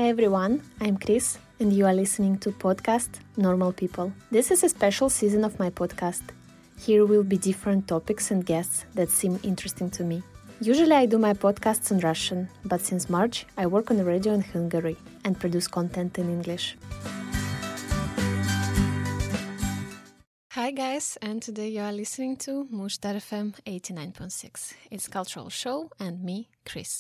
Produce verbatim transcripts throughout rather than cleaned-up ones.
Hi everyone, I'm Chris and you are listening to podcast Normal People. This is a special season of my podcast. Here will be different topics and guests that seem interesting to me. Usually I do my podcasts in Russian, but since March I work on the radio in Hungary and produce content in English. Hi guys, and today you are listening to Mushtar F M eighty-nine point six. It's cultural show and me, Chris.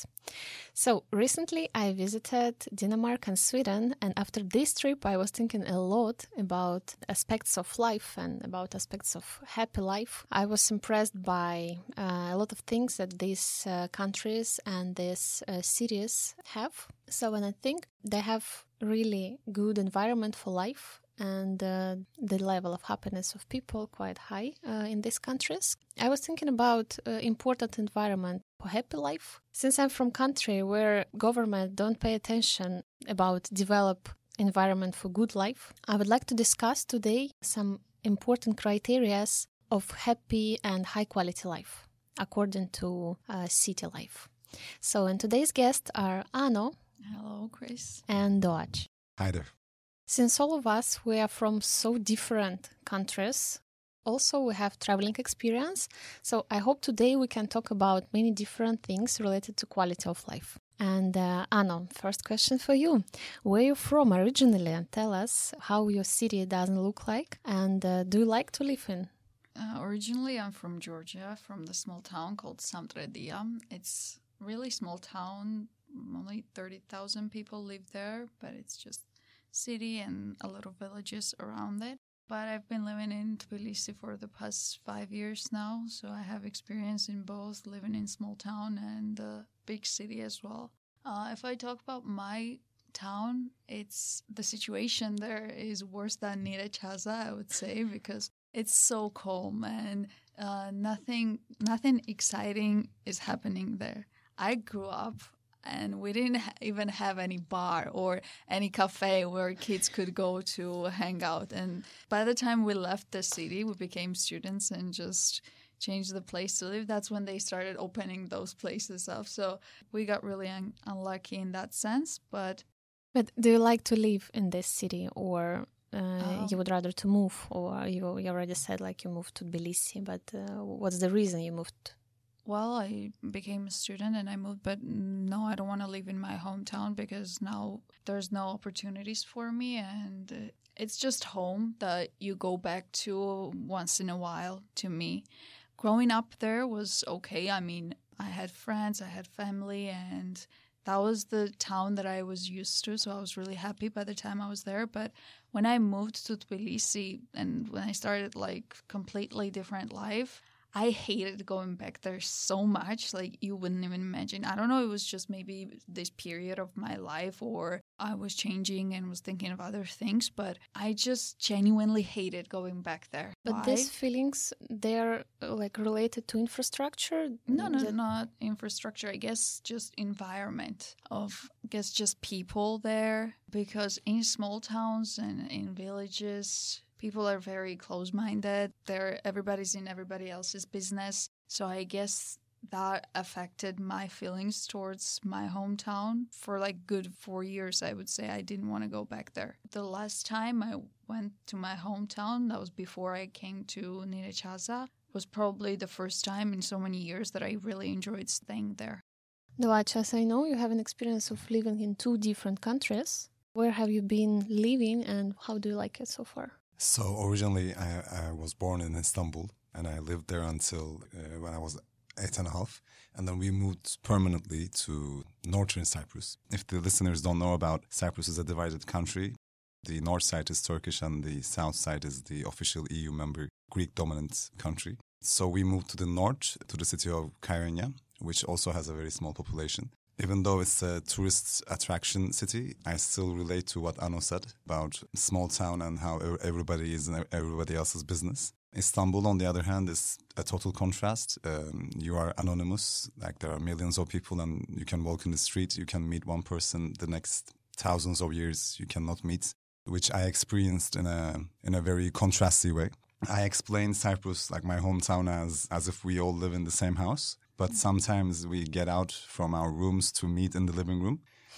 So recently I visited Denmark and Sweden, and after this trip I was thinking a lot about aspects of life and about aspects of happy life. I was impressed by uh, a lot of things that these uh, countries and these uh, cities have. So when I think they have really good environment for life, and uh, the level of happiness of people quite high uh, in these countries. I was thinking about uh, important environment for happy life. Since I'm from country where government don't pay attention about develop environment for good life, I would like to discuss today some important criteria of happy and high quality life according to uh, city life. So, and today's guests are Ano. Hello, Chris. And Doach. Hi there. Since all of us, we are from so different countries, also we have traveling experience, so I hope today we can talk about many different things related to quality of life. And uh, Ano, first question for you. Where are you from originally? And tell us how your city doesn't look like, and uh, do you like to live in? Uh, originally, I'm from Georgia, from the small town called Samtredia. It's a really small town, only thirty thousand people live there, but it's just city and a lot of villages around it. But I've been living in Tbilisi for the past five years now, so I have experience in both living in small town and uh, big city as well. Uh, if I talk about my town, it's the situation there is worse than Nyíregyháza, I would say, because it's so calm and uh, nothing nothing exciting is happening there. I grew up and we didn't ha- even have any bar or any cafe where kids could go to hang out. And by the time we left the city, we became students and just changed the place to live. That's when they started opening those places up. So we got really un- unlucky in that sense. But But do you like to live in this city, or uh, Oh. you would rather to move? Or you, you already said like you moved to Tbilisi, but uh, what's the reason you moved? Well, I became a student and I moved, but no, I don't want to live in my hometown because now there's no opportunities for me, and uh, it's just home that you go back to once in a while to me. Growing up there was okay. I mean, I had friends, I had family, and that was the town that I was used to, so I was really happy by the time I was there. But when I moved to Tbilisi and when I started like completely different life, I hated going back there so much, like you wouldn't even imagine. I don't know, it was just maybe this period of my life, or I was changing and was thinking of other things, but I just genuinely hated going back there. But Why? these feelings, they're uh, like related to infrastructure? No, no, That- not infrastructure. I guess just environment of, I guess just people there. Because in small towns and in villages, people are very close-minded. They're everybody's in everybody else's business. So I guess that affected my feelings towards my hometown for like good four years. I would say I didn't want to go back there. The last time I went to my hometown, that was before I came to Nyíregyháza, was probably the first time in so many years that I really enjoyed staying there. Doach, as I know, you have an experience of living in two different countries. Where have you been living and how do you like it so far? So originally I, I was born in Istanbul and I lived there until uh, when I was eight and a half. And then we moved permanently to northern Cyprus. If the listeners don't know about Cyprus, is a divided country. The north side is Turkish and the south side is the official E U member, Greek dominant country. So we moved to the north, to the city of Kyrenia, which also has a very small population. Even though it's a tourist attraction city, I still relate to what Ano said about small town and how everybody is in everybody else's business. Istanbul, on the other hand, is a total contrast. Um, you are anonymous, like there are millions of people and you can walk in the street, you can meet one person, the next thousands of years you cannot meet, which I experienced in a in a very contrasty way. I explain Cyprus, like my hometown, as as if we all live in the same house. But sometimes we get out from our rooms to meet in the living room.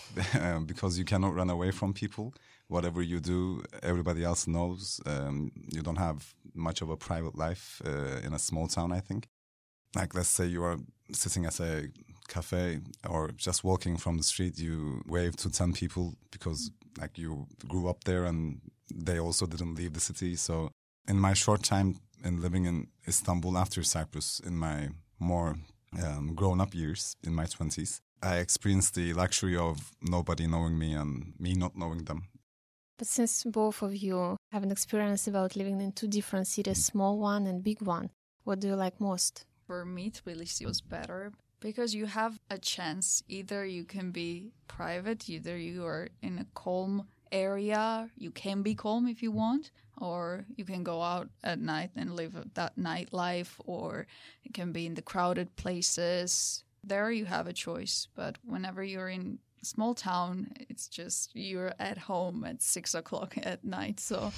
um, because you cannot run away from people. Whatever you do, everybody else knows. Um, you don't have much of a private life uh, in a small town, I think. Like, let's say you are sitting at a cafe or just walking from the street, you wave to ten people because like you grew up there and they also didn't leave the city. So in my short time in living in Istanbul after Cyprus, in my more um, grown-up years, in my twenties, I experienced the luxury of nobody knowing me and me not knowing them. But since both of you have an experience about living in two different cities, small one and big one, what do you like most? For me, Tbilisi was better because you have a chance. Either you can be private, either you are in a calm area, you can be calm if you want, or you can go out at night and live that nightlife, or it can be in the crowded places. There you have a choice. But whenever you're in a small town, it's just you're at home at six o'clock at night. So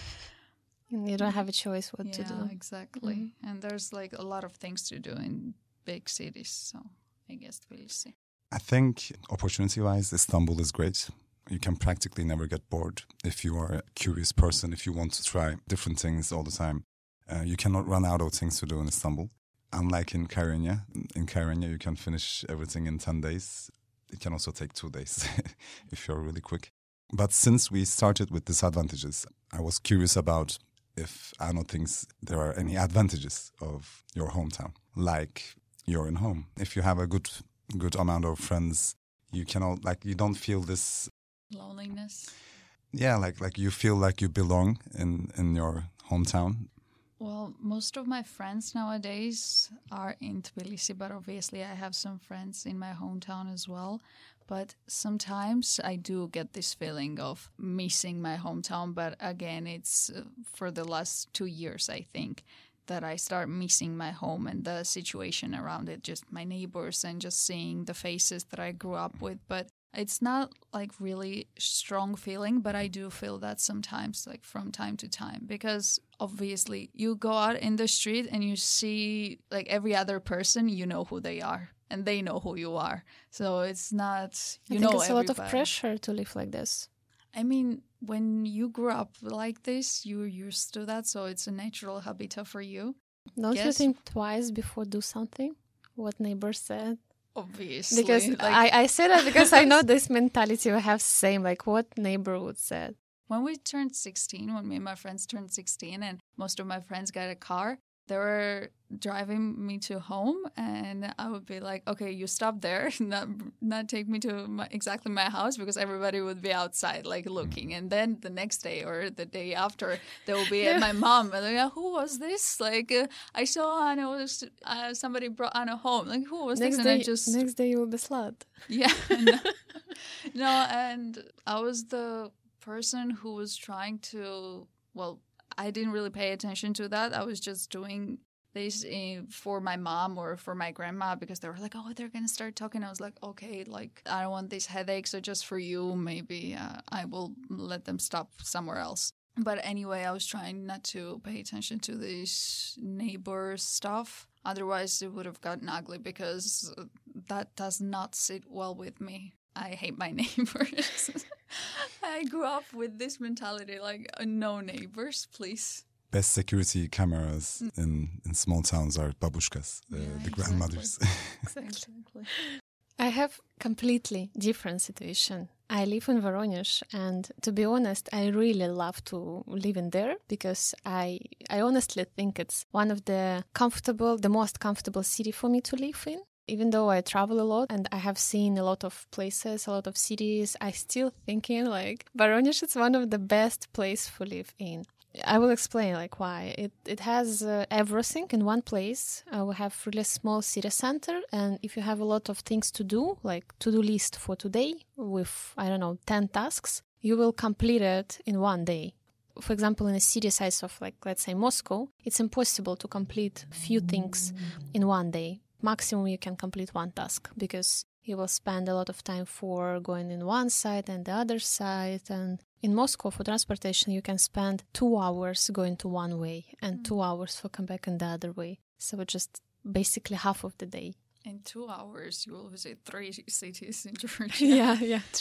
you don't have a choice what yeah, to do. Exactly. Mm-hmm. And there's like a lot of things to do in big cities. So I guess Tbilisi. I think opportunity-wise, Istanbul is great. You can practically never get bored if you are a curious person, if you want to try different things all the time. Uh, you cannot run out of things to do in Istanbul. Unlike in Kyrenia. In Kyrenia, you can finish everything in ten days. It can also take two days if you're really quick. But since we started with disadvantages, I was curious about if Arno thinks there are any advantages of your hometown, like you're in home. If you have a good good amount of friends, you cannot, like, you don't feel this loneliness. Yeah, like like you feel like you belong in, in your hometown. Well, most of my friends nowadays are in Tbilisi, but obviously I have some friends in my hometown as well. But sometimes I do get this feeling of missing my hometown. But again, it's uh, for the last two years, I think, that I start missing my home and the situation around it, just my neighbors and just seeing the faces that I grew up with. But it's not like really strong feeling, but I do feel that sometimes, like from time to time, because obviously you go out in the street and you see like every other person, you know who they are and they know who you are. So it's not, you I know, think it's everybody. a lot of pressure to live like this. I mean, when you grew up like this, you're used to that. So it's a natural habitat for you. Don't Yes. you think twice before do something? What neighbors said? Obviously. Because like, I, I say that because I know this mentality we have same, like what neighbor would say. when we turned sixteen, when me and my friends turned sixteen and most of my friends got a car, they were driving me to home and I would be like, okay, you stop there, not not take me to my, exactly my house because everybody would be outside like looking. And then the next day or the day after, they will be at my mom. And like, who was this? Like, uh, I saw Anna, was, uh, somebody brought Anna home. Like, who was Next this? day, And I just... next day you will be slut. Yeah. no, no, and I was the person who was trying to, well, I didn't really pay attention to that. I was just doing this uh, for my mom or for my grandma because they were like, oh, they're going to start talking. I was like, okay, like, I don't want these headaches. So just for you, maybe uh, I will let them stop somewhere else. But anyway, I was trying not to pay attention to this neighbor stuff. Otherwise, it would have gotten ugly because that does not sit well with me. I hate my neighbors. I grew up with this mentality, like, uh, no neighbors, please. Best security cameras in, in small towns are babushkas, uh, Yeah, the exactly. grandmothers. Exactly. I have completely different situation. I live in Voronezh, and to be honest, I really love to live in there because I I honestly think it's one of the comfortable, the most comfortable city for me to live in. Even though I travel a lot and I have seen a lot of places, a lot of cities, I still thinking like Voronezh is one of the best place to live in. I will explain like why. It it has uh, everything in one place. Uh, we have really small city center, and if you have a lot of things to do, like to-do list for today with, I don't know, ten tasks, you will complete it in one day. For example, in a city size of like, let's say Moscow, it's impossible to complete few things in one day. Maximum you can complete one task because you will spend a lot of time for going in one side and the other side. And in Moscow, for transportation, you can spend two hours going to one way and mm. two hours for come back in the other way. So just basically half of the day. In two hours, you will visit three cities in Georgia. yeah, yeah, true.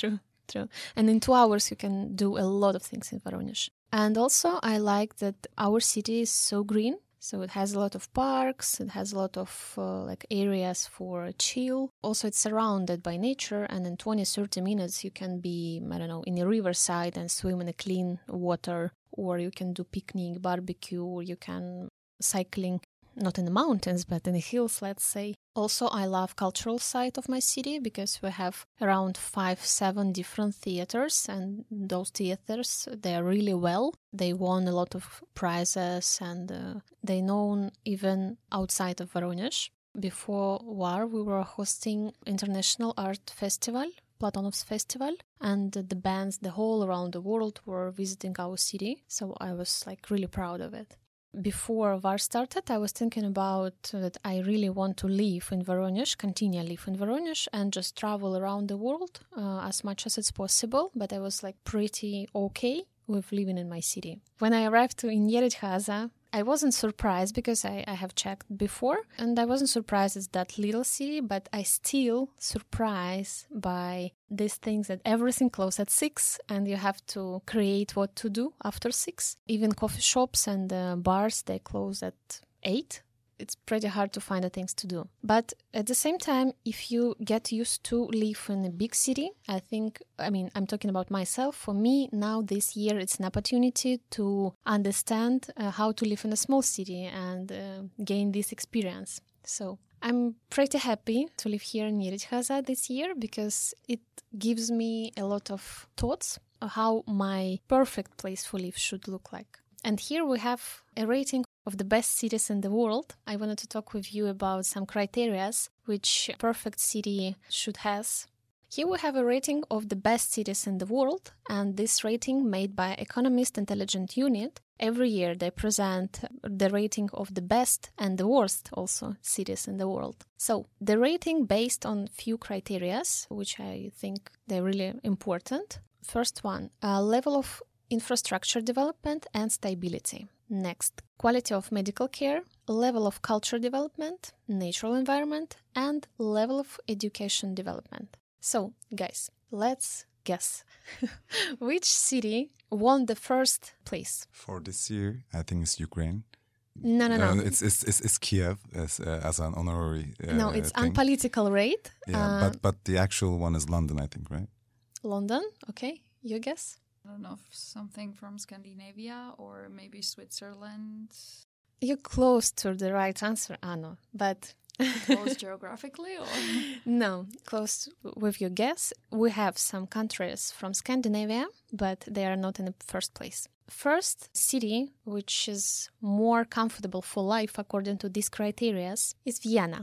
true. And in two hours, you can do a lot of things in Voronezh. And also, I like that our city is so green. So it has a lot of parks, it has a lot of uh, like areas for chill. Also, it's surrounded by nature, and in twenty to thirty minutes you can be, I don't know, in a riverside and swim in a clean water, or you can do picnic, barbecue, or you can cycling, not in the mountains, but in the hills, let's say. Also, I love cultural side of my city because we have around five, seven different theaters, and those theaters, they are really well. They won a lot of prizes, and uh, they're known even outside of Voronezh. Before war, we were hosting International Art Festival, Platonov's Festival, and the bands the whole around the world were visiting our city. So I was like really proud of it. Before war started, I was thinking about that I really want to live in Voronezh, continue live in Voronezh, and just travel around the world uh, as much as it's possible. But I was like pretty okay with living in my city. When I arrived to in Nyíregyháza, I wasn't surprised because I, I have checked before, and I wasn't surprised it's that little city, but I still surprised by these things that everything closes at six and you have to create what to do after six. Even coffee shops and uh, bars, they close at eight. It's pretty hard to find the things to do. But at the same time, if you get used to live in a big city, I think, I mean, I'm talking about myself. For me, now this year, it's an opportunity to understand uh, how to live in a small city and uh, gain this experience. So I'm pretty happy to live here in Nyíregyháza this year because it gives me a lot of thoughts of how my perfect place for live should look like. And here we have a rating of the best cities in the world. I wanted to talk with you about some criteria which a perfect city should have. Here we have a rating of the best cities in the world, and this rating made by Economist Intelligence Unit. Every year they present the rating of the best and the worst also cities in the world. So the rating based on few criteria, which I think they're really important. First one, a level of infrastructure development and stability. Next, quality of medical care, level of culture development, natural environment, and level of education development. So, guys, let's guess. Which city won the first place? For this year, I think it's Ukraine. No, no, no. Uh, it's, it's it's it's Kiev as uh, as an honorary. Uh, no, it's thing. unpolitical rate. Yeah, uh, but but the actual one is London, I think, right? London. Okay, you guess. I don't know if something from Scandinavia or maybe Switzerland. You're close to the right answer, Anna, but... Close geographically or? No, close with your guess. We have some countries from Scandinavia, but they are not in the first place. First city, which is more comfortable for life according to these criteria, is Vienna.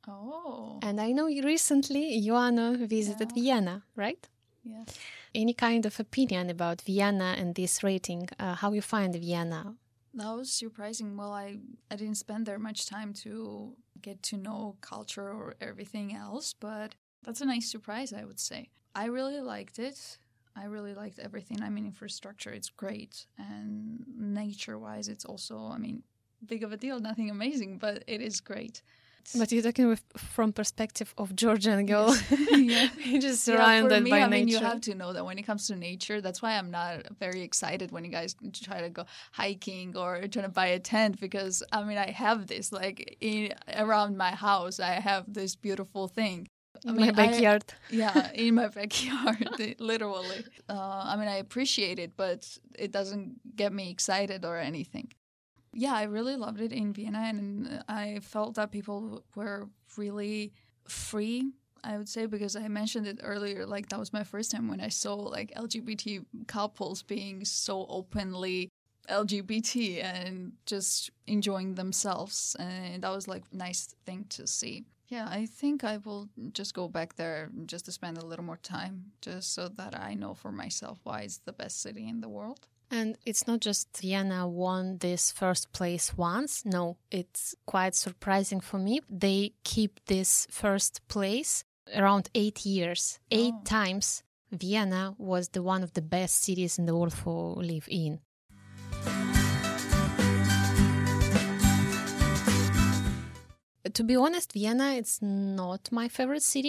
Oh. And I know recently Joanna visited Yeah. Vienna, right? Yes. Any kind of opinion about Vienna and this rating? Uh, how you find Vienna? That was surprising. Well, I, I didn't spend there much time to get to know culture or everything else, but that's a nice surprise, I would say. I really liked it. I really liked everything. I mean, infrastructure, it's great. And nature-wise, it's also, I mean, big of a deal, nothing amazing, but it is great. But you're talking with, from perspective of Georgian girl. Yeah. You're just Yeah, surrounded for me, by I nature. mean, you have to know that when it comes to nature, that's why I'm not very excited when you guys try to go hiking or trying to buy a tent because, I mean, I have this, like, in, around my house, I have this beautiful thing. In I mean, my backyard. I, yeah, in my backyard, literally. Uh, I mean, I appreciate it, but it doesn't get me excited or anything. Yeah, I really loved it in Vienna, and I felt that people were really free, I would say, because I mentioned it earlier, like that was my first time when I saw like L G B T couples being so openly L G B T and just enjoying themselves, and that was like a nice thing to see. Yeah, I think I will just go back there just to spend a little more time, just so that I know for myself why it's the best city in the world. And it's not just Vienna won this first place once. No, it's quite surprising for me. They keep this first place around eight years. Eight Oh. times Vienna was the one of the best cities in the world for live in. To be honest, Vienna, it's not my favorite city.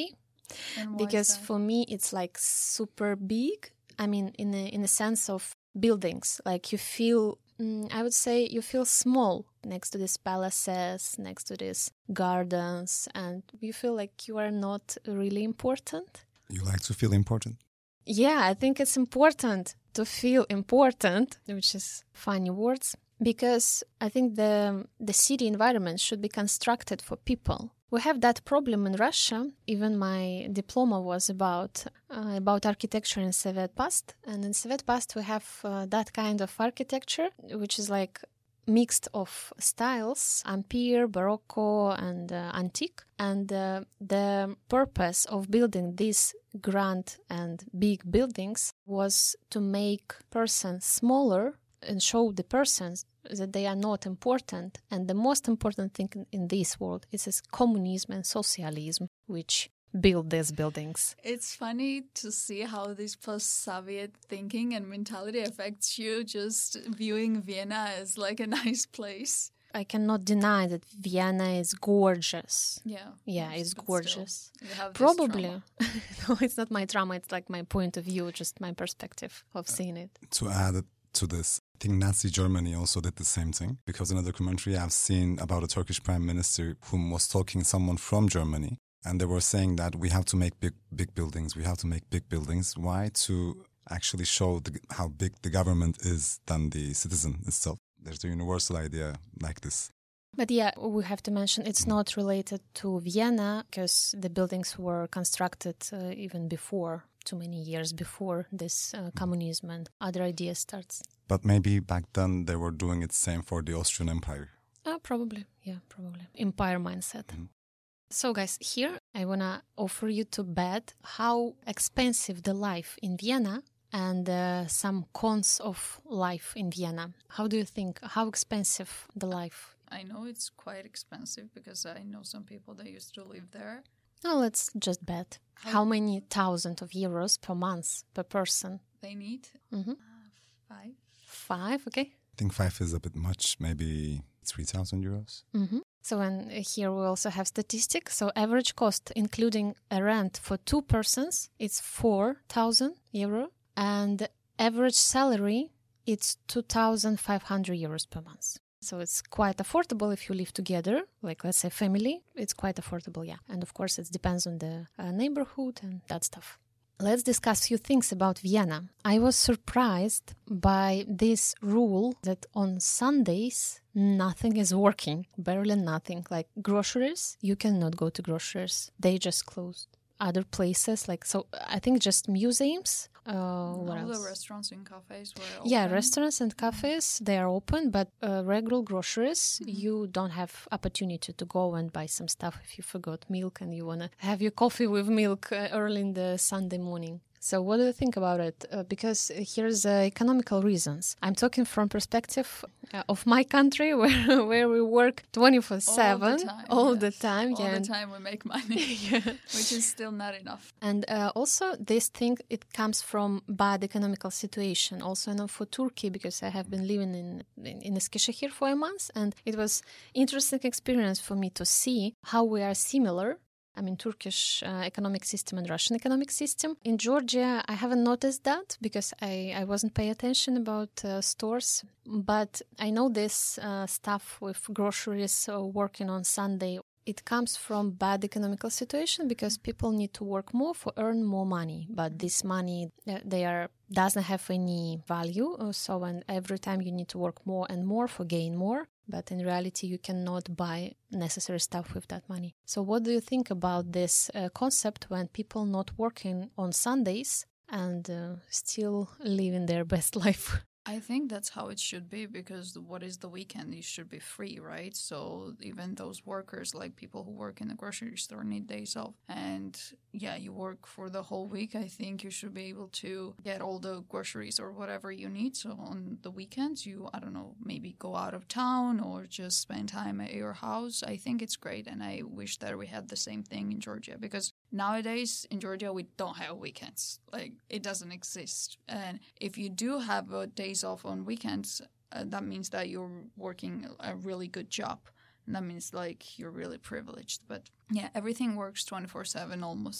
And why Because is that? for me, it's like super big. I mean, in a, in a sense of buildings, like you feel, mm, I would say you feel small next to these palaces, next to these gardens, and you feel like you are not really important. You like to feel important? Yeah, I think it's important to feel important, which is funny words, because I think the the city environment should be constructed for people. We have that problem in Russia. Even my diploma was about uh, about architecture in Soviet past, and in Soviet past we have uh, that kind of architecture, which is like mixed of styles, Ampere, Barocco, and uh, antique. And uh, the purpose of building these grand and big buildings was to make persons smaller and show the persons that they are not important. And the most important thing in, in this world is this communism and socialism, which build these buildings. It's funny to see how this post-Soviet thinking and mentality affects you, just viewing Vienna as like a nice place. I cannot deny that Vienna is gorgeous. Yeah. Yeah, yes, it's but gorgeous. still, you have this Probably. trauma. No, it's not my trauma. It's like my point of view, just my perspective of seeing it. To add it to this, I think Nazi Germany also did the same thing, because in a documentary I've seen about a Turkish prime minister whom was talking someone from Germany, and they were saying that we have to make big big buildings, we have to make big buildings. Why? To actually show the, how big the government is than the citizen itself. There's a universal idea like this. But yeah, we have to mention it's not related to Vienna, because the buildings were constructed uh, even before, too many years before this uh, communism and other ideas starts. But maybe back then they were doing it same for the Austrian Empire. Uh, probably, yeah, probably. Empire mindset. Mm-hmm. So guys, here I want to offer you to bet how expensive the life in Vienna and uh, some cons of life in Vienna. How do you think? How expensive the life? I know it's quite expensive because I know some people that used to live there. Oh, let's just bet. How- How many thousand of euros per month per person? They need Mm-hmm. uh, five. Five, okay. I think five is a bit much, maybe three thousand euros. Mm-hmm. So and here we also have statistics. So average cost, including a rent for two persons, it's four thousand euro. And average salary, it's two thousand five hundred euros per month. So it's quite affordable if you live together, like let's say family. It's quite affordable, yeah. And of course, it depends on the uh, neighborhood and that stuff. Let's discuss a few things about Vienna. I was surprised by this rule that on Sundays, nothing is working, barely nothing. Like groceries, you cannot go to groceries. They just closed. Other places, like, so I think just museums. Uh, what All else? the restaurants and cafes were open. Yeah, restaurants and cafes, they are open, but uh, regular groceries, Mm-hmm. you don't have opportunity to go and buy some stuff if you forgot milk and you want to have your coffee with milk uh, early in the Sunday morning. So what do you think about it? Uh, because here's uh, economical reasons. I'm talking from perspective uh, of my country where where we work twenty-four seven time, all yes. the time. All yeah, the and- time we make money, yeah. which is still not enough. And uh, also this thing, it comes from bad economical situation. Also, I know for Turkey, because I have been living in, in, in Eskişehir for a month, and it was interesting experience for me to see how we are similar. I mean, Turkish uh, economic system and Russian economic system. In Georgia, I haven't noticed that because I, I wasn't paying attention about uh, stores. But I know this uh, stuff with groceries uh, working on Sunday. It comes from bad economical situation because people need to work more for earn more money. But this money, uh, they are doesn't have any value. Uh, So and every time you need to work more and more for gain more. But in reality, you cannot buy necessary stuff with that money. So what do you think about this uh, concept when people not working on Sundays and uh, still living their best life? I think that's how it should be, because what is the weekend? You should be free, right? So even those workers, like people who work in the grocery store, need days off. And yeah, you work for the whole week. I think you should be able to get all the groceries or whatever you need. So on the weekends, you, I don't know, maybe go out of town or just spend time at your house. I think it's great. And I wish that we had the same thing in Georgia, because nowadays in Georgia, we don't have weekends. Like, it doesn't exist. And if you do have a days off on weekends, uh, that means that you're working a really good job. And that means, like, you're really privileged. But yeah, everything works twenty-four seven almost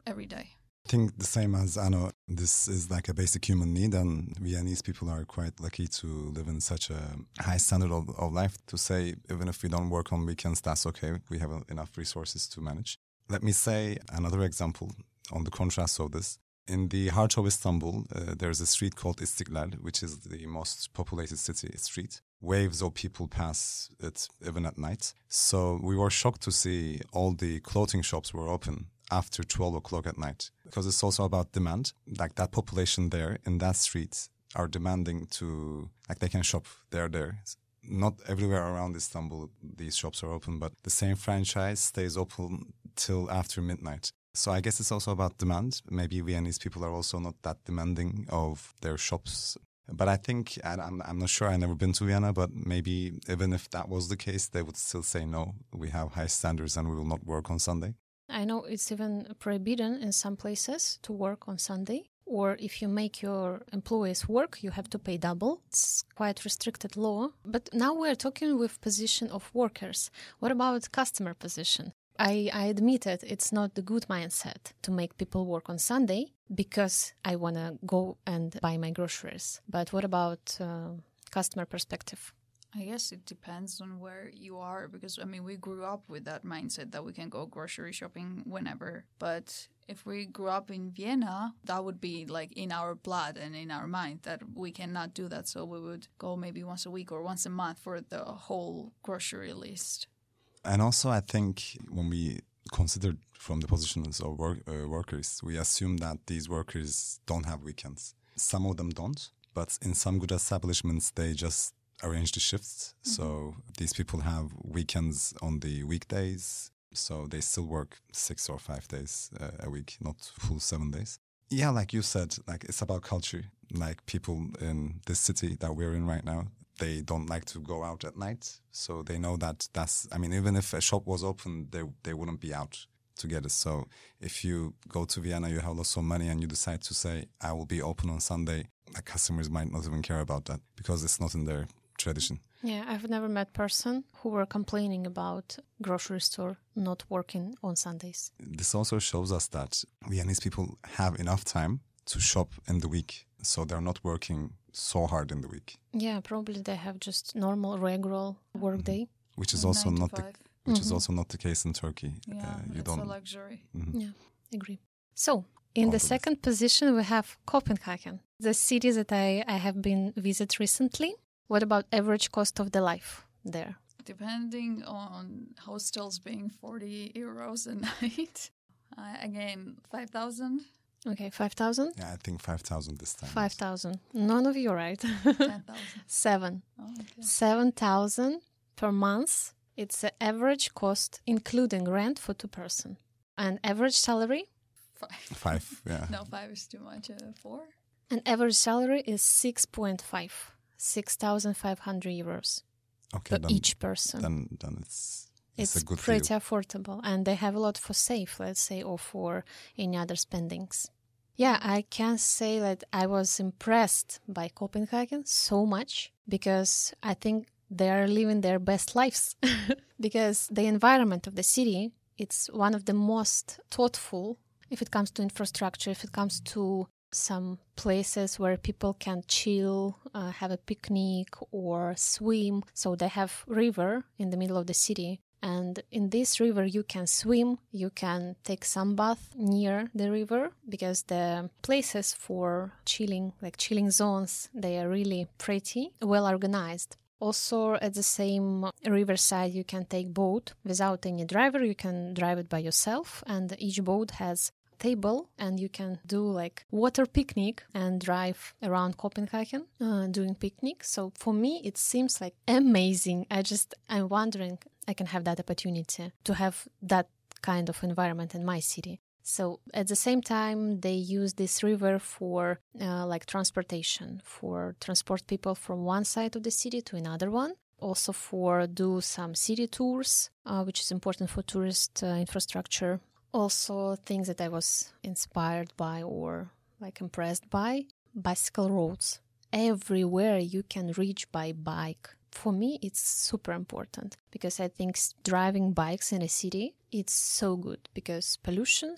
every day. I think the same as Anna, this is like a basic human need, and Viennese people are quite lucky to live in such a high standard of, of life to say, even if we don't work on weekends, that's okay. We have enough resources to manage. Let me say another example on the contrast of this. In the heart of Istanbul, uh, there's a street called Istiklal, which is the most populated city street. Waves of people pass it even at night. So we were shocked to see all the clothing shops were open after twelve o'clock at night, because it's also about demand. Like that population there in that street are demanding to, like they can shop, they're there. Not everywhere around Istanbul these shops are open, but the same franchise stays open till after midnight. So I guess it's also about demand. Maybe Viennese people are also not that demanding of their shops. But I think, and I'm, I'm not sure, I've never been to Vienna, but maybe even if that was the case, they would still say, no, we have high standards and we will not work on Sunday. I know it's even forbidden in some places to work on Sunday. Or if you make your employees work, you have to pay double. It's quite restricted law. But now we're talking with position of workers. What about customer position? I, I admit it, it's not the good mindset to make people work on Sunday because I want to go and buy my groceries. But what about uh, customer perspective? I guess it depends on where you are, because, I mean, we grew up with that mindset that we can go grocery shopping whenever. But if we grew up in Vienna, that would be like in our blood and in our mind that we cannot do that. So we would go maybe once a week or once a month for the whole grocery list. And also, I think when we consider from the positions of work, uh, workers, we assume that these workers don't have weekends. Some of them don't, but in some good establishments, they just arrange the shifts. Mm-hmm. So these people have weekends on the weekdays. So they still work six or five days uh, a week, not full seven days. Yeah, like you said, like it's about culture. Like people in this city that we're in right now, they don't like to go out at night. So they know that that's, I mean, even if a shop was open, they they wouldn't be out to get it. So if you go to Vienna, you have lots of money and you decide to say, I will be open on Sunday, like customers might not even care about that because it's not in their tradition. Yeah, I've never met person who were complaining about grocery store not working on Sundays. This also shows us that Viennese people have enough time to shop in the week. So they're not working so hard in the week. Yeah, probably they have just normal, regular work day. Mm-hmm. Which is also not the which mm-hmm. is also not the case in Turkey. Yeah, uh, you it's don't... a luxury. Mm-hmm. Yeah, agree. So in the second position, we have Copenhagen, the city that I, I have been visit recently. What about average cost of the life there? Depending on hostels being forty euros a night. Uh, again, five thousand. Okay, five thousand? Yeah, I think five thousand this time. five thousand. None of you right. ten thousand. Seven. Oh, okay. seven thousand per month. It's the average cost, including rent for two person. And average salary? Five. Five, yeah. No, five is too much. Uh, four? And average salary is six point five. six thousand five hundred euros okay, for then, each person. Then, then it's it's, it's a good pretty deal. affordable, and they have a lot for save, let's say, or for any other spendings. Yeah, I can say that I was impressed by Copenhagen so much because I think they are living their best lives. Because the environment of the city, it's one of the most thoughtful if it comes to infrastructure, if it comes to some places where people can chill, uh, have a picnic or swim. So they have river in the middle of the city. And in this river, you can swim, you can take some bath near the river because the places for chilling, like chilling zones, they are really pretty, well organized. Also, at the same riverside, you can take boat without any driver. You can drive it by yourself, and each boat has table and you can do like water picnic and drive around Copenhagen uh, doing picnic. So for me, it seems like amazing. I just, I'm wondering I can have that opportunity to have that kind of environment in my city. So at the same time, they use this river for uh, like transportation, for transport people from one side of the city to another one. Also for do some city tours, uh, which is important for tourist uh, infrastructure. Also, things that I was inspired by or like impressed by, bicycle roads. Everywhere you can reach by bike. For me, it's super important because I think driving bikes in a city, it's so good because pollutions,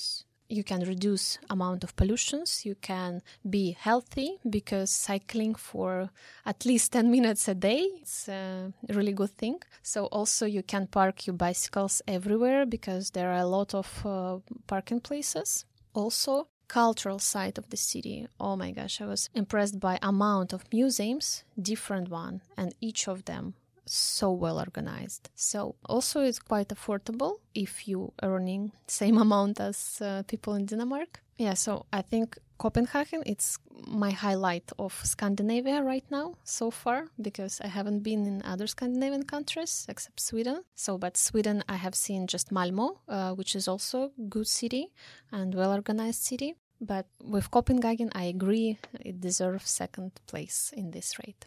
you can reduce amount of pollutions. You can be healthy because cycling for at least ten minutes a day, it's a really good thing. So also you can park your bicycles everywhere because there are a lot of uh, parking places. Also, cultural side of the city. Oh my gosh, I was impressed by amount of museums, different one, and each of them so well organized. So also it's quite affordable if you earning same amount as uh, people in Denmark. Yeah, so I think Copenhagen, it's my highlight of Scandinavia right now so far, because I haven't been in other Scandinavian countries except Sweden. So, but Sweden, I have seen just Malmö, uh, which is also good city and well-organized city. But with Copenhagen, I agree, it deserves second place in this rate.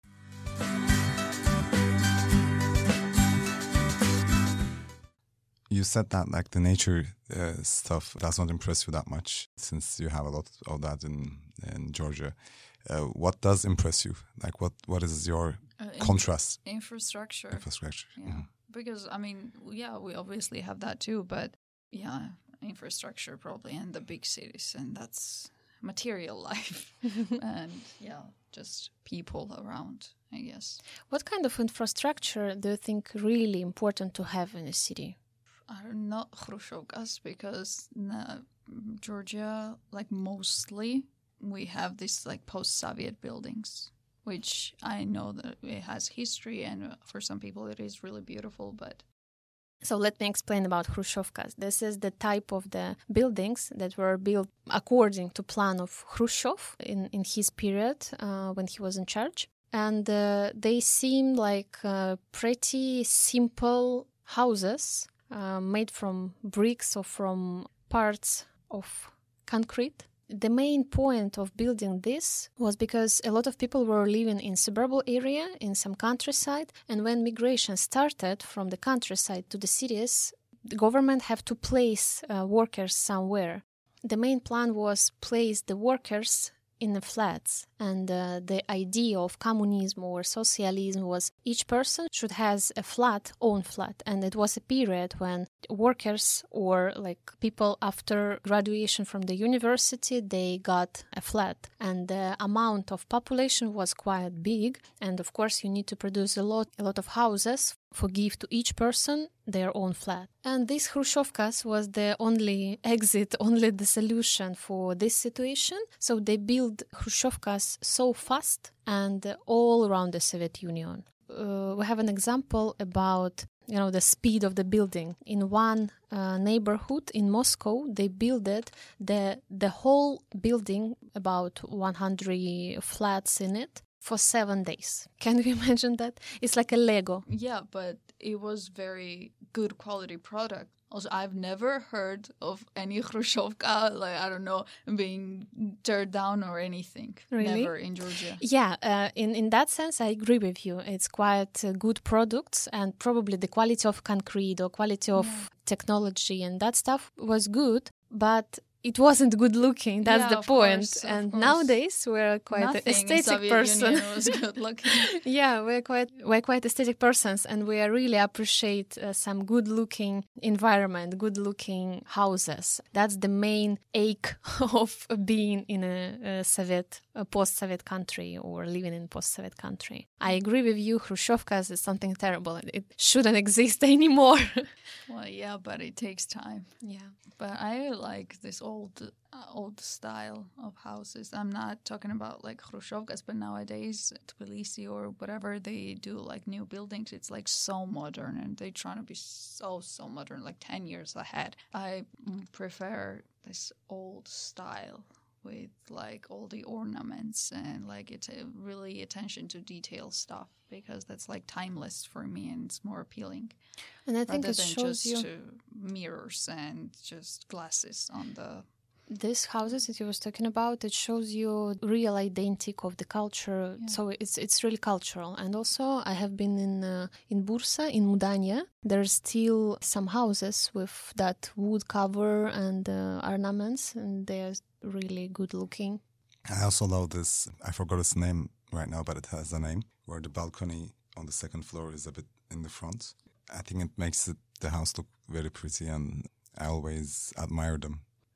You said that like the nature uh, stuff does not impress you that much, since you have a lot of that in in Georgia. Uh, what does impress you? Like what what is your uh, in- contrast? Infrastructure. Infrastructure. Yeah, mm-hmm. Because I mean, yeah, we obviously have that too, but yeah, infrastructure probably, and the big cities, and that's material life, and yeah, just people around, I guess. What kind of infrastructure do you think really important to have in a city? Are not Khrushchevkas, because uh, Georgia, like mostly, we have this like post-Soviet buildings, which I know that it has history, and for some people it is really beautiful, but... So let me explain about Khrushchevkas. This is the type of the buildings that were built according to plan of Khrushchev in, in his period uh, when he was in charge. And uh, they seem like uh, pretty simple houses Uh, made from bricks or from parts of concrete. The main point of building this was because a lot of people were living in suburban area, in some countryside, and when migration started from the countryside to the cities, the government have to place uh, workers somewhere. The main plan was place the workers in the flats, and uh, the idea of communism or socialism was each person should has a flat, own flat, and it was a period when workers or like people after graduation from the university, they got a flat, and the amount of population was quite big, and of course you need to produce a lot, a lot of houses for give to each person their own flat. And this Khrushchevkas was the only exit, only the solution for this situation. So they built Khrushchevkas so fast and all around the Soviet Union. Uh, we have an example about, you know, the speed of the building. In one uh, neighborhood in Moscow, they built the the whole building, about one hundred flats in it, for seven days. Can you imagine that? It's like a Lego. Yeah, but it was very good quality product. Also, I've never heard of any Khrushchevka, like, I don't know, being teared down or anything. Really? Never in Georgia. Yeah, uh, in, in that sense, I agree with you. It's quite uh, good products, and probably the quality of concrete or quality of yeah. technology and that stuff was good, but it wasn't good looking. That's yeah, the point. Course, and course. Nowadays we're quite Nothing an aesthetic in person. Union was good looking. Yeah, we're quite we're quite aesthetic persons, and we really appreciate uh, some good looking environment, good looking houses. That's the main ache of being in a, a Soviet, a post-Soviet country, or living in post-Soviet country. I agree with you. Khrushchevkas is something terrible. It shouldn't exist anymore. Well, yeah, but it takes time. Yeah. But I like this old uh, old style of houses. I'm not talking about like Khrushchevkas, but nowadays Tbilisi or whatever, they do like new buildings. It's like so modern, and they're trying to be so, so modern, like ten years ahead. I prefer this old style with like all the ornaments and like it's a really attention to detail stuff, because that's like timeless for me and it's more appealing. And I think rather it than shows just you to mirrors and just glasses on the. These houses that you was talking about, it shows you real identity of the culture. Yeah. So it's it's really cultural. And also, I have been in uh, in Bursa, in Mudanya. There's still some houses with that wood cover and uh, ornaments, and they're really good looking. I also love this. I forgot its name right now, but it has a name, where the balcony on the second floor is a bit in the front. I think it makes it, the house look very pretty, and I always admire them.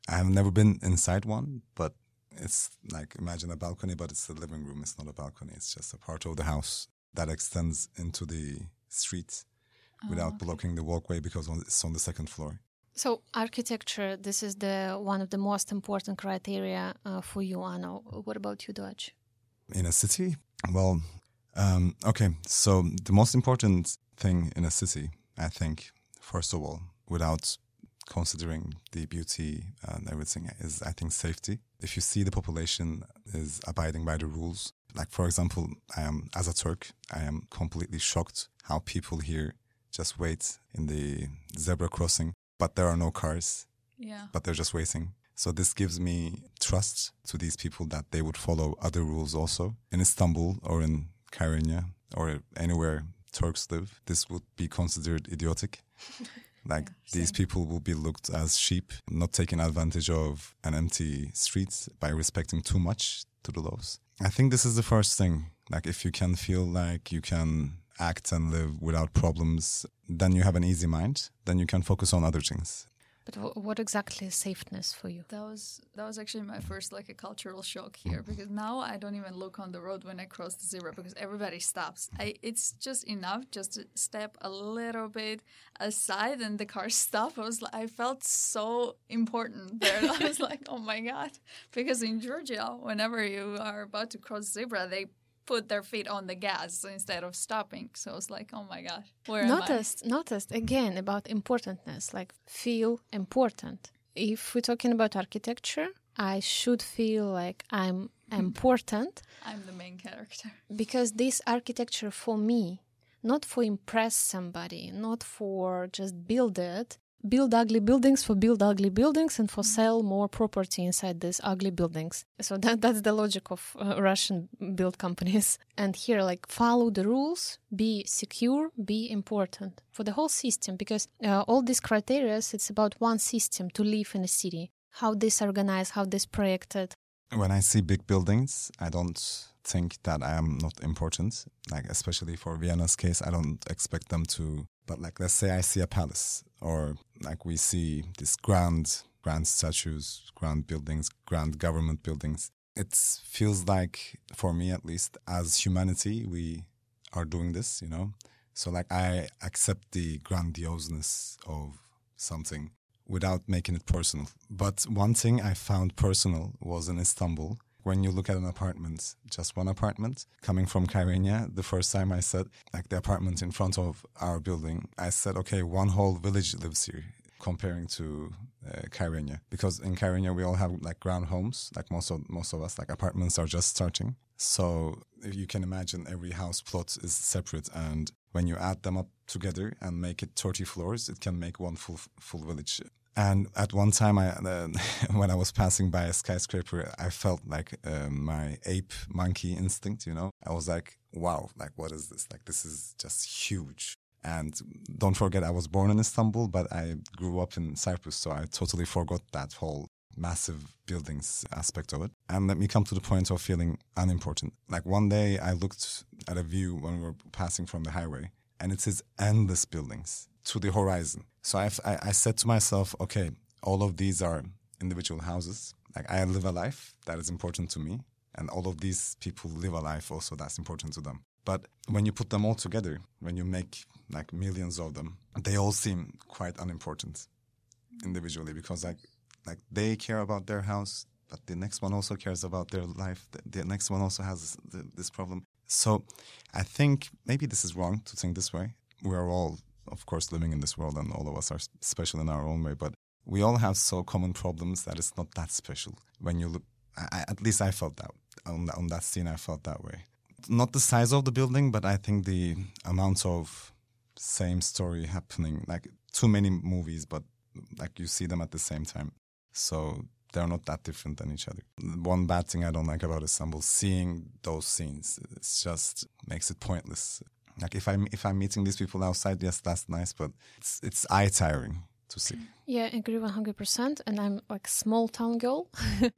I have never been inside one, but it's like, imagine a balcony, but it's a living room. It's not a balcony. It's just a part of the house that extends into the street oh, without okay. blocking the walkway because it's on the second floor. So architecture, this is the one of the most important criteria uh, for you, Ano. What about you, Dodge? In a city? Well, um, okay. So the most important thing in a city, I think, first of all, without considering the beauty and everything, is, I think, safety. If you see the population is abiding by the rules, like, for example, I am, as a Turk, I am completely shocked how people here just wait in the zebra crossing, but there are no cars, yeah. but they're just waiting. So this gives me trust to these people that they would follow other rules also. In Istanbul or in Kyrenia or anywhere Turks live, this would be considered idiotic. Like yeah, these people will be looked as sheep, not taking advantage of an empty street by respecting too much to the laws. I think this is the first thing. Like if you can feel like you can act and live without problems, then you have an easy mind. Then you can focus on other things. But w- what exactly is safeness for you? That was that was actually my first like a cultural shock here, because now I don't even look on the road when I cross the zebra because everybody stops. I it's just enough just to step a little bit aside and the car stop. I was like, I felt so important there. I was like, oh my God, because in Georgia, whenever you are about to cross zebra, they put their feet on the gas instead of stopping. So I was like, oh my God, where noticed, am I? Noticed, again, about importantness, like feel important. If we're talking about architecture, I should feel like I'm important. I'm the main character. Because this architecture for me, not for impress somebody, not for just build it, build ugly buildings for build ugly buildings and for sell more property inside these ugly buildings. So that that's the logic of uh, Russian build companies. And here, like, follow the rules, be secure, be important for the whole system, because uh, all these criteria, it's about one system to live in a city. How this organized, how this projected. When I see big buildings, I don't think that I am not important. Like, especially for Vienna's case, I don't expect them to. But like, let's say I see a palace, or like we see these grand, grand statues, grand buildings, grand government buildings. It feels like, for me at least, as humanity, we are doing this, you know? So like, I accept the grandioseness of something without making it personal. But one thing I found personal was in Istanbul. When you look at an apartment, just one apartment, coming from Kyrenia, the first time I said, like the apartment in front of our building, I said, okay, one whole village lives here, comparing to uh, Kyrenia. Because in Kyrenia, we all have like ground homes, like most of, most of us, like apartments are just starting. So if you can imagine, every house plot is separate. And when you add them up together and make it thirty floors, it can make one full full village. And at one time, I, uh, when I was passing by a skyscraper, I felt like uh, my ape monkey instinct, you know. I was like, wow, like, what is this? Like, this is just huge. And don't forget, I was born in Istanbul, but I grew up in Cyprus, so I totally forgot that whole massive buildings aspect of it. And let me come to the point of feeling unimportant. Like, one day I looked at a view when we were passing from the highway, and it says endless buildings to the horizon. So I, I, I said to myself, okay, all of these are individual houses. Like, I live a life that is important to me, and all of these people live a life also that's important to them. But when you put them all together, when you make like millions of them, they all seem quite unimportant individually, because like like they care about their house, but the next one also cares about their life. The, the next one also has this, the, this problem. So I think maybe this is wrong to think this way. We are all, of course, living in this world, and all of us are special in our own way, but we all have so common problems that it's not that special. When you look, I, at least I felt that, on, on that scene I felt that way. Not the size of the building, but I think the amount of same story happening, like too many movies, but like you see them at the same time. So they're not that different than each other. One bad thing I don't like about Istanbul, seeing those scenes, it just makes it pointless. Like if I'm if I'm meeting these people outside, yes, that's nice, but it's it's eye tiring to see. Yeah, I agree one hundred percent. And I'm like small town girl.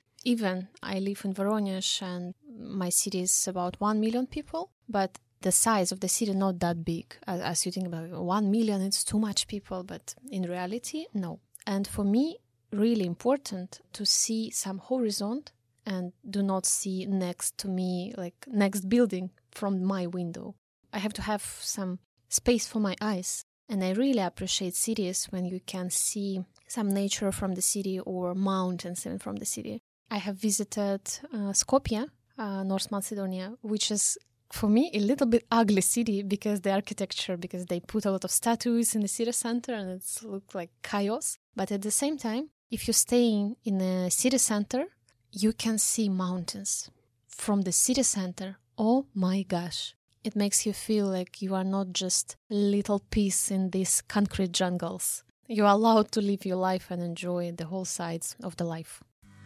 Even I live in Voronezh, and my city is about one million people, but the size of the city not that big. As, as you think about it, one million, it's too much people, but in reality, no. And for me, really important to see some horizon and do not see next to me, like next building from my window. I have to have some space for my eyes. And I really appreciate cities when you can see some nature from the city or mountains even from the city. I have visited uh, Skopje, uh, North Macedonia, which is for me a little bit ugly city because the architecture, because they put a lot of statues in the city center and it looks like chaos. But at the same time, if you're staying in a city center, you can see mountains from the city center. Oh my gosh. It makes you feel like you are not just a little piece in these concrete jungles. You are allowed to live your life and enjoy the whole sides of the life.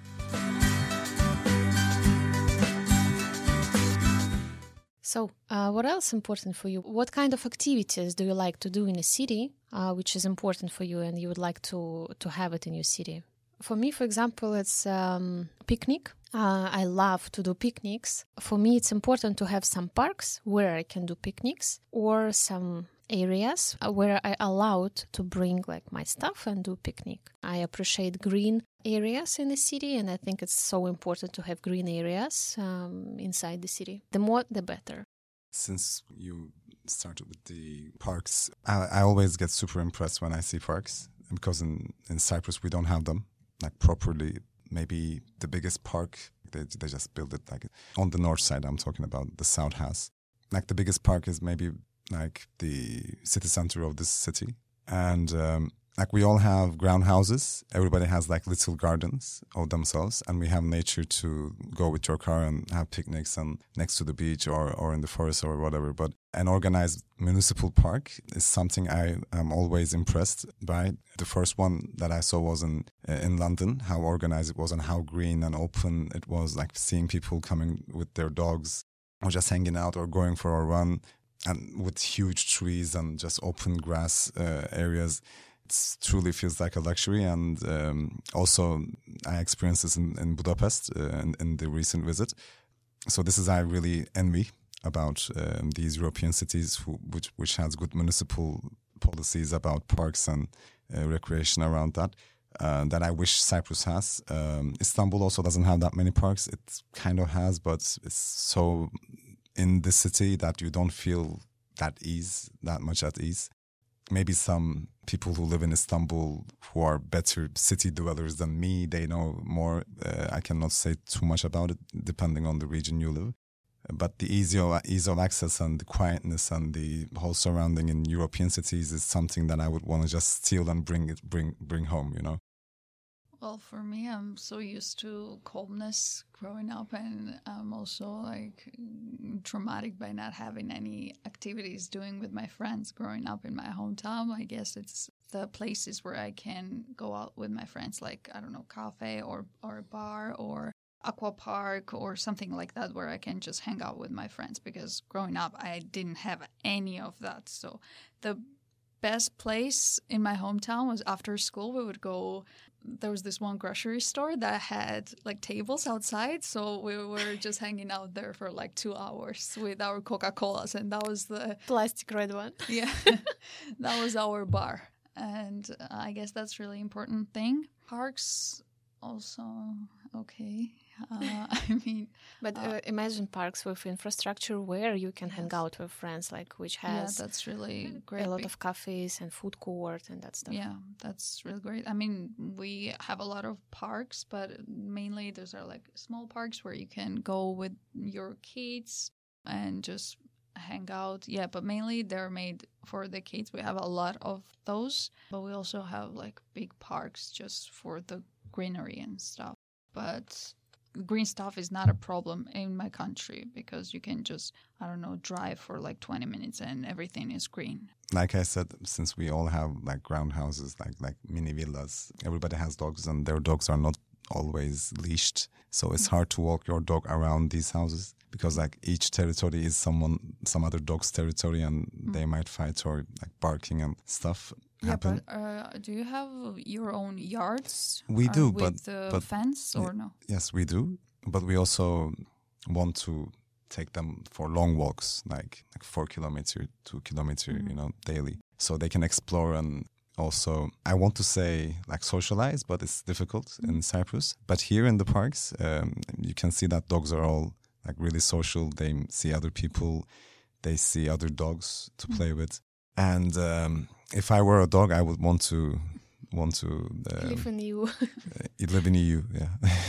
So, uh, what else important for you? What kind of activities do you like to do in a city, uh, which is important for you and you would like to, to have it in your city? For me, for example, it's um, picnic. Uh, I love to do picnics. For me, it's important to have some parks where I can do picnics or some areas where I allowed to bring like my stuff and do picnic. I appreciate green areas in the city, and I think it's so important to have green areas um, inside the city. The more, the better. Since you started with the parks, I, I always get super impressed when I see parks because in, in Cyprus we don't have them like properly. Maybe the biggest park, they they just build it like on the north side. I'm talking about the south has. Like the biggest park is maybe like the city center of this city. And um, like we all have ground houses. Everybody has like little gardens of themselves. And we have nature to go with your car and have picnics and next to the beach or, or in the forest or whatever. But an organized municipal park is something I am always impressed by. The first one that I saw was in uh, in London, how organized it was and how green and open it was, like seeing people coming with their dogs or just hanging out or going for a run and with huge trees and just open grass uh, areas. It truly feels like a luxury. And um, also I experienced this in, in Budapest uh, in, in the recent visit. So this is I really envy about um, these European cities who, which which has good municipal policies about parks and uh, recreation around that, uh, that I wish Cyprus has. Um, Istanbul also doesn't have that many parks. It kind of has, but it's so in the city that you don't feel that ease, that much at ease. Maybe some people who live in Istanbul who are better city dwellers than me, they know more. Uh, I cannot say too much about it, depending on the region you live. But the ease of, ease of access and the quietness and the whole surrounding in European cities is something that I would want to just steal and bring it, bring bring home, you know. Well, for me, I'm so used to calmness growing up, and I'm also like traumatic by not having any activities doing with my friends growing up in my hometown. I guess it's the places where I can go out with my friends, like, I don't know, cafe or, or a bar or aqua park or something like that, where I can just hang out with my friends, because growing up I didn't have any of that. So the best place in my hometown was after school we would go. There was this one grocery store that had like tables outside, so we were just hanging out there for like two hours with our Coca-Colas, and that was the plastic red one. Yeah, that was our bar. And I guess that's really important thing. Parks also okay. Uh, I mean, but uh, imagine parks with infrastructure where you can yes. hang out with friends, like which has yeah, that's really great. A lot of cafes and food court and that stuff. Yeah, that's really great. I mean, we have a lot of parks, but mainly those are like small parks where you can go with your kids and just hang out. Yeah, but mainly they're made for the kids. We have a lot of those, but we also have like big parks just for the greenery and stuff. But green stuff is not a problem in my country, because you can just, I don't know, drive for like twenty minutes and everything is green. Like I said, since we all have like ground houses, like like mini villas, everybody has dogs and their dogs are not always leashed. So it's hard to walk your dog around these houses, because like each territory is someone, some other dog's territory, and mm. they might fight or like barking and stuff. Yeah, happen. but uh, do you have your own yards? We do, with but the but, fence or no? Yes, we do. But we also want to take them for long walks, like like four kilometer, two kilometer, mm-hmm. you know, daily, so they can explore and also, I want to say like socialize, but it's difficult in Cyprus. But here in the parks, um, you can see that dogs are all like really social. They see other people, they see other dogs to play with. And um, if I were a dog, I would want to want to um, Live in you. live in E U. Yeah.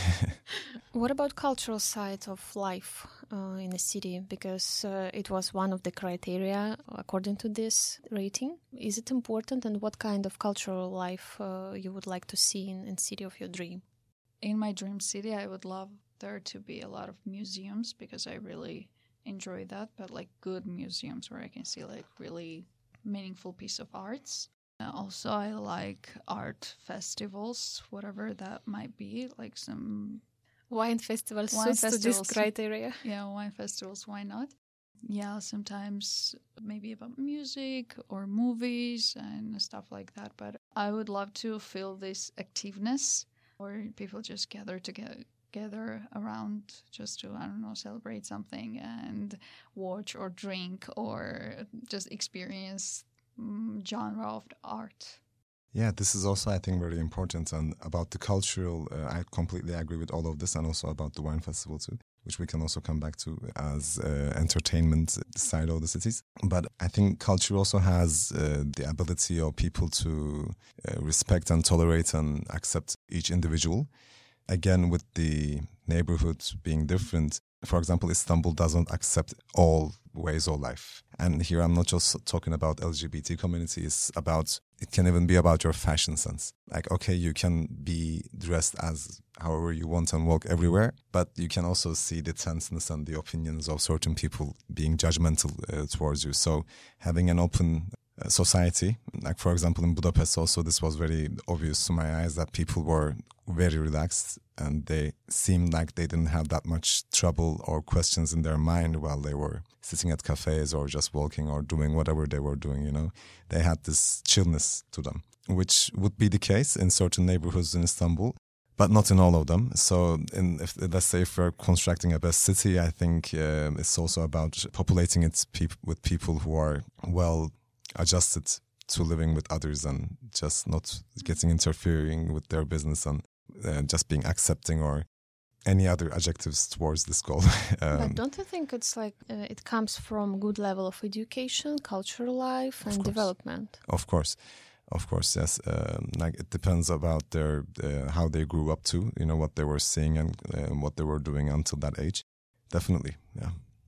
What about cultural side of life uh, in a city? Because uh, it was one of the criteria according to this rating. Is it important, and what kind of cultural life uh, you would like to see in, in city of your dream? In my dream city, I would love there to be a lot of museums because I really enjoy that, but like good museums where I can see like really meaningful piece of arts. Uh, also, I like art festivals, whatever that might be, like some Wine festivals Wine suits to this festivals. criteria. Yeah, wine festivals, why not? Yeah, sometimes maybe about music or movies and stuff like that. But I would love to feel this activeness where people just gather together gather around just to, I don't know, celebrate something and watch or drink or just experience um, genre of art. Yeah, this is also, I think, very important. And about the cultural, uh, I completely agree with all of this, and also about the wine festival too, which we can also come back to as uh, entertainment side of the cities. But I think culture also has uh, the ability of people to uh, respect and tolerate and accept each individual. Again, with the neighborhoods being different, for example, Istanbul doesn't accept all ways of life. And here I'm not just talking about L G B T community, it's about, it can even be about your fashion sense. Like, okay, you can be dressed as however you want and walk everywhere, but you can also see the tenseness and the opinions of certain people being judgmental uh, towards you. So having an open uh, society, like for example in Budapest also, this was very obvious to my eyes that people were very relaxed and they seemed like they didn't have that much trouble or questions in their mind while they were sitting at cafes or just walking or doing whatever they were doing, you know. They had this chillness to them, which would be the case in certain neighborhoods in Istanbul, but not in all of them. So in, if, let's say if we're constructing a best city, I think uh, it's also about populating it peop- with people who are well adjusted to living with others and just not getting interfering with their business and uh, just being accepting or any other adjectives towards this goal. um, But don't you think it's like uh, it comes from good level of education, cultural life, and development? Of course, of course, yes. Um, like it depends about their uh, how they grew up to, you know, what they were seeing and uh, what they were doing until that age. Definitely, yeah.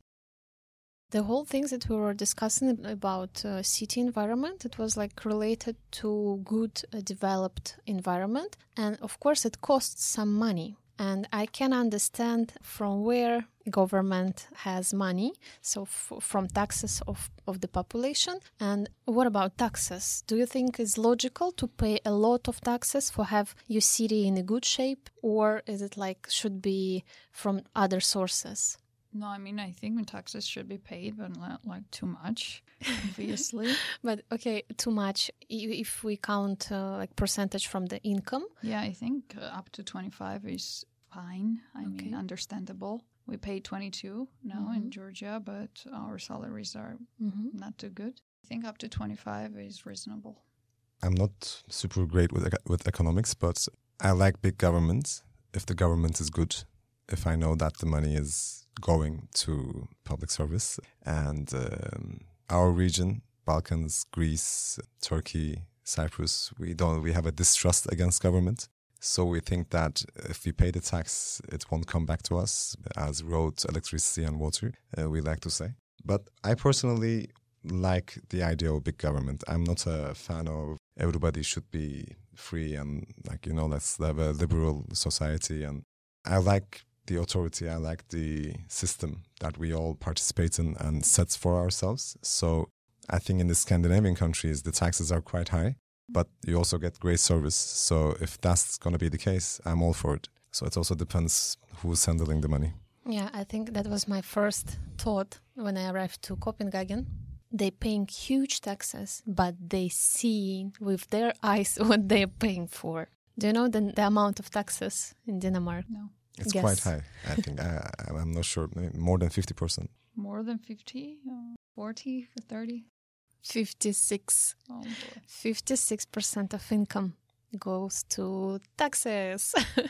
The whole things that we were discussing about uh, city environment, it was like related to good uh, developed environment. And of course, it costs some money. And I can understand from where government has money, so f- from taxes of, of the population. And what about taxes? Do you think it's logical to pay a lot of taxes for have your city in a good shape? Or is it like should be from other sources? No, I mean, I think taxes should be paid, but not like too much, obviously. But okay, too much i- if we count uh, like percentage from the income. Yeah, I think uh, up to twenty-five is fine. I Okay. mean, understandable. We pay twenty-two now in Georgia, but our salaries are Mm-hmm. not too good. I think up to twenty-five is reasonable. I'm not super great with eco- with economics, but I like big government. If the government is good, if I know that the money is going to public service, and um, our region, Balkans, Greece, Turkey, Cyprus, we don't we have a distrust against government. So we think that if we pay the tax, it won't come back to us as roads, electricity, and water. Uh, we like to say, but I personally like the idea of big government. I'm not a fan of everybody should be free and like, you know, let's have a liberal society. And I like the authority, I like the system that we all participate in and set for ourselves. So I think in the Scandinavian countries, the taxes are quite high, but you also get great service. So if that's going to be the case, I'm all for it. So it also depends who's handling the money. Yeah, I think that was my first thought when I arrived to Copenhagen. They paying huge taxes, but they see with their eyes what they're paying for. Do you know the, the amount of taxes in Denmark? No. It's Yes. quite high, I think. I, I- I'm not sure, maybe more than fifty percent. More than fifty, uh, forty, thirty? fifty-six Oh boy. fifty-six percent of income goes to taxes.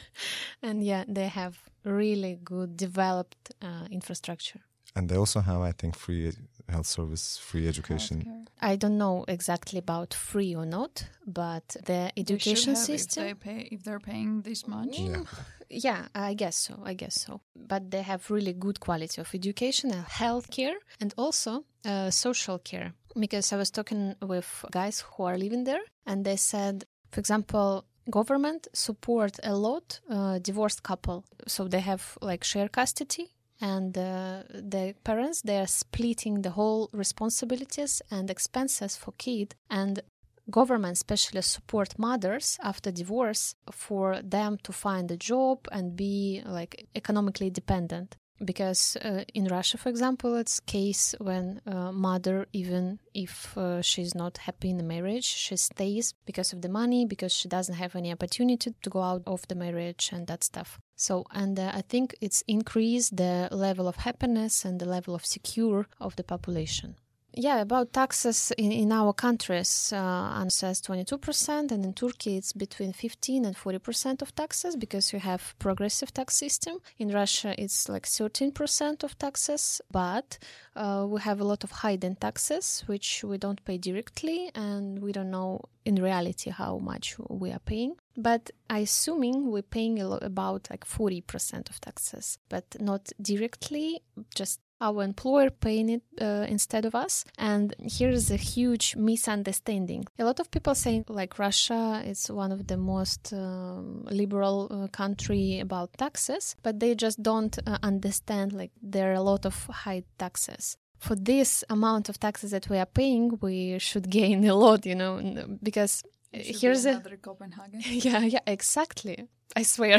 And yeah, they have really good developed uh, infrastructure. And they also have, I think, free health service, free education. Healthcare. I don't know exactly about free or not, but the They should education have system. If, they pay, if they're paying this much. Yeah. Yeah, I guess so. I guess so. But they have really good quality of education and healthcare, and also uh, social care. Because I was talking with guys who are living there, and they said, for example, government support a lot uh, divorced couple. So they have like share custody. And uh, the parents, they are splitting the whole responsibilities and expenses for kid. And government especially support mothers after divorce for them to find a job and be like economically dependent. Because uh, in Russia, for example, it's case when uh, mother, even if uh, she's not happy in the marriage, she stays because of the money, because she doesn't have any opportunity to go out of the marriage and that stuff. So, and uh, I think it's increased the level of happiness and the level of secure of the population. Yeah, about taxes in, in our countries, uh, Anna says twenty-two percent, and in Turkey it's between fifteen and forty percent of taxes because you have progressive tax system. In Russia it's like thirteen percent of taxes, but uh, we have a lot of hidden taxes which we don't pay directly, and we don't know in reality how much we are paying. But I assuming we're paying a lot, about like forty percent of taxes, but not directly, just our employer paying it uh, instead of us. And here is a huge misunderstanding. A lot of people say like Russia is one of the most um, liberal uh, country about taxes, but they just don't uh, understand like there are a lot of high taxes. For this amount of taxes that we are paying, we should gain a lot, you know, because here's a Copenhagen. yeah, yeah, exactly. I swear,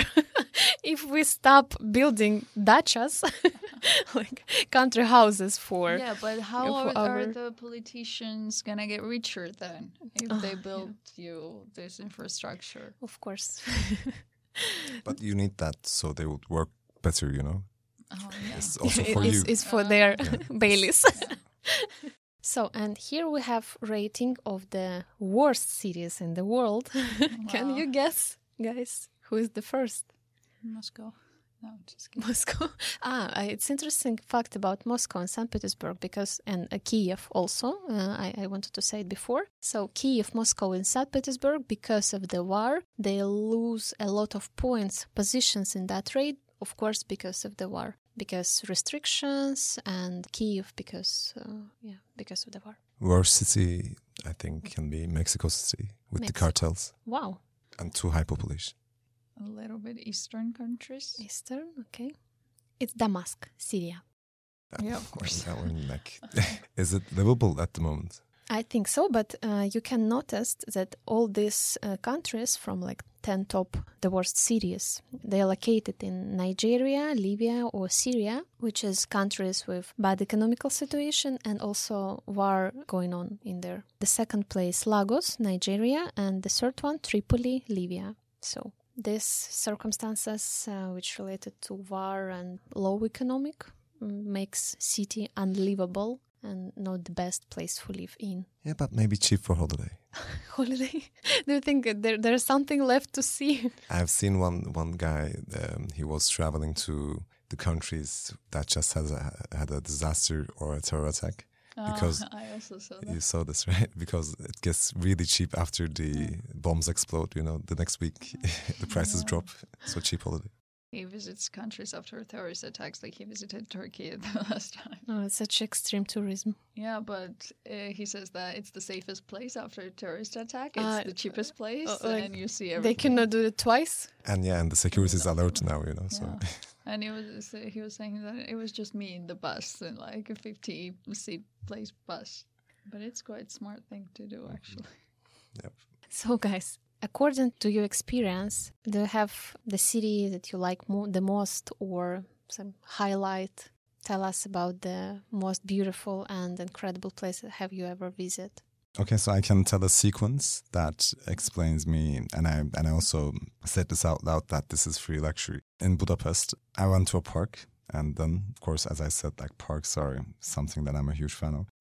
if we stop building dachas, like country houses for yeah, but how for are, our... are the politicians gonna get richer then if Oh, they build yeah. you this infrastructure? Of course. But you need that so they would work better, you know? Oh yeah. It's also It- for it's, you. it's for Uh, their Yeah. Baileys. Yeah. So, and here we have rating of the worst cities in the world. Can Wow. you guess, guys, who is the first? Moscow. No, just kidding. Moscow. Ah, I- it's interesting fact about Moscow and Saint Petersburg because, and uh, Kiev also, uh, I, I wanted to say it before. So Kiev, Moscow and Saint Petersburg, because of the war, they lose a lot of points, positions in that rate, of course, because of the war. Because restrictions, and Kiev because, uh, yeah, because of the war. Worst city, I think, can be Mexico City with the Mexico. cartels Wow. and too high population. A little bit eastern countries. Eastern, okay. It's Damascus, Syria. Yeah, of course. That one, like, is it livable at the moment? I think so, but uh, you can notice that all these uh, countries from like ten top, the worst cities, they are located in Nigeria, Libya or Syria, which is countries with bad economical situation and also war going on in there. The second place, Lagos, Nigeria, and the third one, Tripoli, Libya. So these circumstances uh, which related to war and low economic mm, makes city unlivable and not the best place to live in. Yeah, but maybe cheap for holiday. Holiday? Do you think there there's something left to see? I've seen one one guy. Um, he was traveling to the countries that just has a, had a disaster or a terror attack. Because Oh, I also saw you that. saw this, right? Because it gets really cheap after the bombs explode. You know, the next week the prices Yeah. drop. So cheap holiday. He visits countries after terrorist attacks, like he visited Turkey the last time. Oh, it's such extreme tourism. Yeah, but uh, he says that it's the safest place after a terrorist attack. It's Uh, the cheapest place, uh, like, and you see They everything. cannot do it twice? And yeah, and the security is alert now. You know, so Yeah. And he was he was saying that it was just me in the bus, in like a fifty seat place bus. But it's quite smart thing to do, actually. yep. So, guys, according to your experience, do you have the city that you like mo- the most or some highlight? Tell us about the most beautiful and incredible place have you ever visited? Okay, so I can tell a sequence that explains me, and I and I also said this out loud that this is free luxury. In Budapest, I went to a park, and then, of course, as I said, like parks are something that I'm a huge fan of.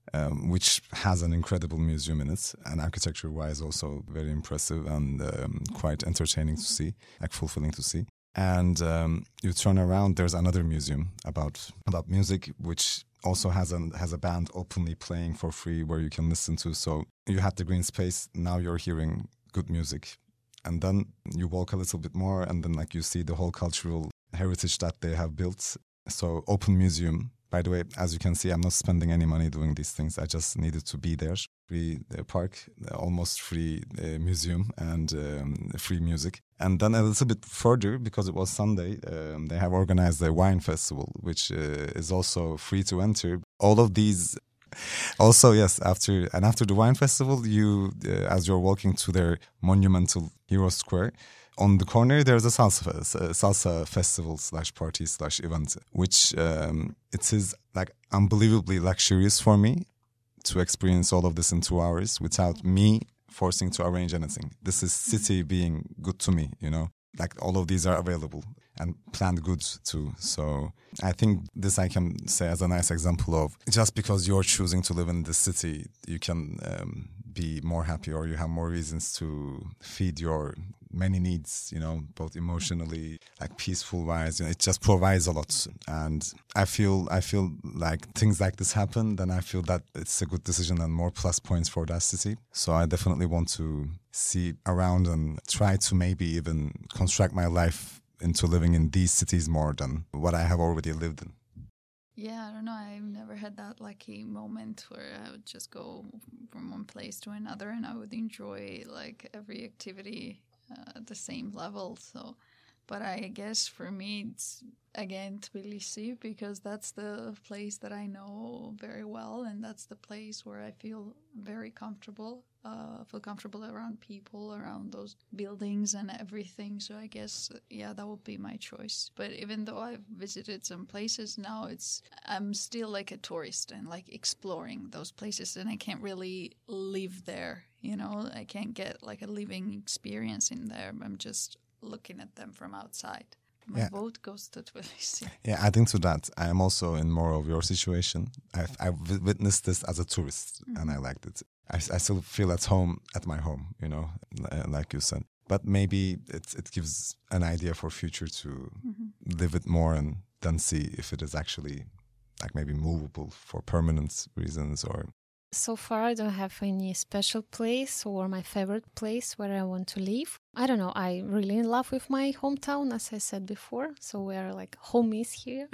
um, which has an incredible museum in it, and architecture-wise also very impressive and um, quite entertaining to see, like fulfilling to see. And um, you turn around, there's another museum about about music, which also has a, has a band openly playing for free where you can listen to. So you had the green space, now you're hearing good music. And then you walk a little bit more and then like you see the whole cultural heritage that they have built. So open museum. By the way, as you can see, I'm not spending any money doing these things. I just needed to be there. Free uh, park, almost free uh, museum and um, free music. And then a little bit further, because it was Sunday, um, they have organized a wine festival, which uh, is also free to enter. All of these, also yes, after and after the wine festival, you, uh, as you're walking to their monumental Hero Square, on the corner, there's a salsa, a salsa festival slash party slash event, which um, it is like unbelievably luxurious for me to experience all of this in two hours without me forcing to arrange anything. This is city being good to me, you know, like all of these are available and planned goods too. So I think this I can say as a nice example of just because you're choosing to live in the city, you can um, be more happy or you have more reasons to feed your many needs, you know, both emotionally, like peaceful wise, you know, it just provides a lot. And I feel, I feel like things like this happen, then I feel that it's a good decision and more plus points for that city. So I definitely want to see around and try to maybe even construct my life into living in these cities more than what I have already lived in. Yeah, I don't know. I've never had that lucky moment where I would just go from one place to another and I would enjoy like every activity uh, at the same level. So, but I guess for me, it's again Tbilisi because that's the place that I know very well and that's the place where I feel very comfortable. Uh, feel comfortable around people, around those buildings and everything. So I guess, yeah, that would be my choice. But even though I've visited some places now, it's I'm still like a tourist and like exploring those places and I can't really live there, you know? I can't get like a living experience in there. I'm just looking at them from outside. My yeah. vote goes to Tbilisi. Yeah, adding to that, I am also in more of your situation. I've, I've witnessed this as a tourist mm-hmm. and I liked it. I, I still feel at home at my home, you know, like you said. But maybe it it gives an idea for future to mm-hmm. live it more and then see if it is actually like maybe movable for permanent reasons or... So far, I don't have any special place or my favorite place where I want to live. I don't know. I'm really in love with my hometown, as I said before. So we're like homies here.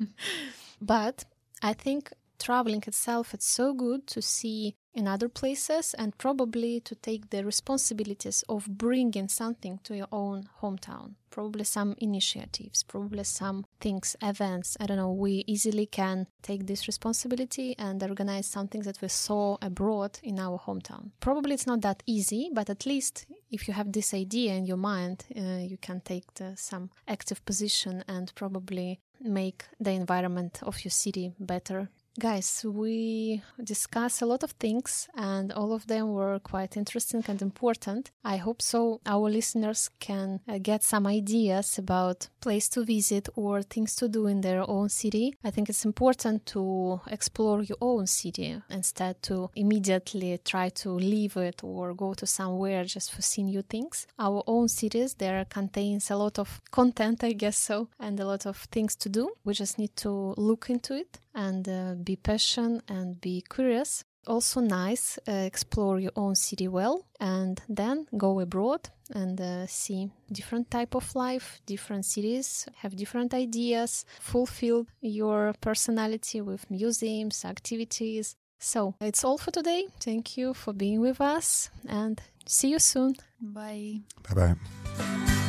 But I think traveling itself, it's so good to see in other places and probably to take the responsibilities of bringing something to your own hometown. Probably some initiatives, probably some things, events. I don't know, we easily can take this responsibility and organize something that we saw abroad in our hometown. Probably it's not that easy, but at least if you have this idea in your mind, uh, you can take the, some active position and probably make the environment of your city better. Guys, we discussed a lot of things and all of them were quite interesting and important. I hope so our listeners can uh, get some ideas about place to visit or things to do in their own city. I think it's important to explore your own city instead to immediately try to leave it or go to somewhere just for seeing new things. Our own cities, there contains a lot of content, I guess so, and a lot of things to do. We just need to look into it and uh, be patient and be curious. Also nice, uh, explore your own city well and then go abroad and uh, see different type of life, different cities, have different ideas, fulfill your personality with museums, activities. So it's all for today. Thank you for being with us and see you soon. Bye. Bye-bye.